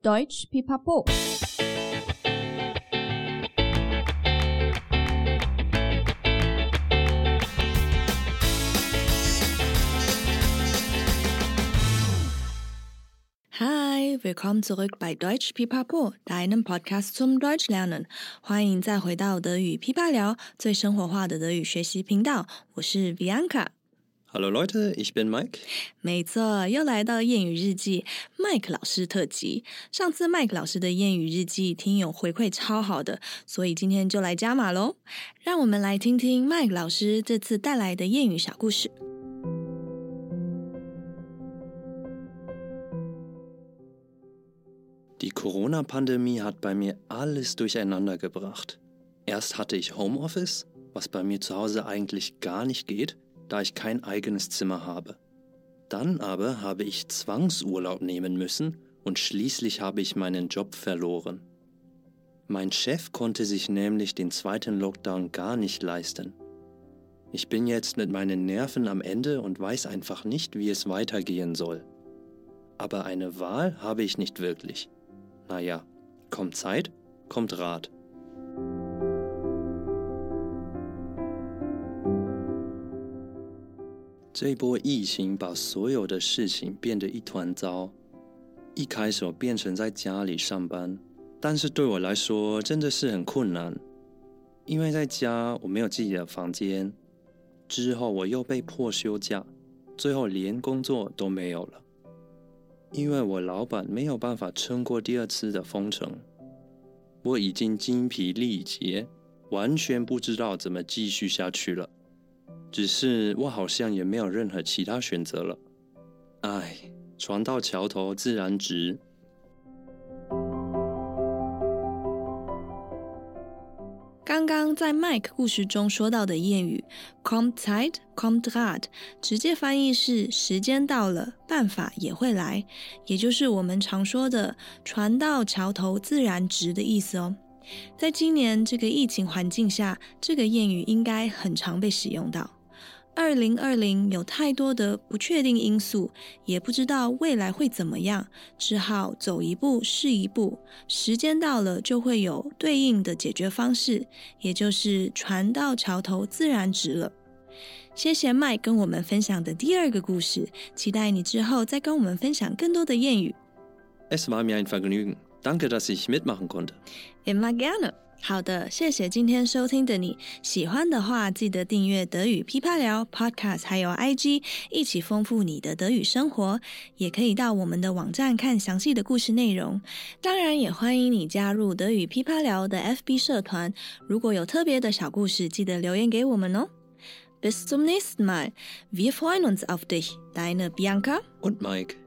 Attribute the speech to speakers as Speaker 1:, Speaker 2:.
Speaker 1: Deutsch Pipapo。
Speaker 2: Hi, willkommen zurück bei Deutsch Pipapo, deinem Podcast zum Deutschlernen。欢迎再回到德语噼啪聊，最生活化的德语学习频道。我是 Bianca。Hallo
Speaker 3: Leute, ich bin Mike。
Speaker 2: 没错，又来到谚语日记 Mike 老师特辑。上次 Mike 老师的谚语日记听友回馈超好的，所以今天就来加码咯。让我们来听听 Mike 老师这次带来的谚语小故事。
Speaker 3: Die Corona-Pandemie hat bei mir alles durcheinander gebracht. Erst hatte ich Homeoffice, was bei mir zu Hause eigentlich gar nicht geht, da ich kein eigenes Zimmer habe. Dann aber habe ich Zwangsurlaub nehmen müssen und schließlich habe ich meinen Job verloren. Mein Chef konnte sich nämlich den zweiten Lockdown gar nicht leisten. Ich bin jetzt mit meinen Nerven am Ende und weiß einfach nicht, wie es weitergehen soll. Aber eine Wahl habe ich nicht wirklich.Naja, kommt Zeit, kommt Rat. 这一波疫情把所有的事情变得一团糟。一开始我变成在家里上班，但是对我来说真的是很困难，因为在家我没有自己的房间。之后我又被迫休假，最后连工作都没有了。因为我老板没有办法撑过第二次的封城，我已经精疲力竭，完全不知道怎么继续下去了。只是我好像也没有任何其他选择了。唉，船到桥头自然直。
Speaker 2: 刚刚在 Mike 故事中说到的谚语 Kommt Zeit, kommt Rat 直接翻译是时间到了，办法也会来，也就是我们常说的船到桥头自然直的意思哦。在今年这个疫情环境下，这个谚语应该很常被使用到。2020有太多的不确定因素，也不知道未来会怎么样，只好走一步是一步，时间到了就会有对应的解决方式，也就是船到桥头自然直了。谢谢 Mike 跟我们分享的第二个故事，期待你之后再跟我们分享更多的谚语。
Speaker 3: Es war mir ein Vergnügen. Danke, dass ich mitmachen konnte.
Speaker 2: Immer gerne.好的，谢谢今天收听的你。喜欢的话，记得订阅德语噼啪聊 Podcast 还有 IG， 一起丰富你的德语生活。也可以到我们的网站看详细的故事内容。当然也欢迎你加入德语噼啪聊的 FB 社团。如果有特别的小故事，记得留言给我们哦。Bis zum nächsten Mal. Wir freuen uns auf dich. Deine Bianca
Speaker 3: und Mike.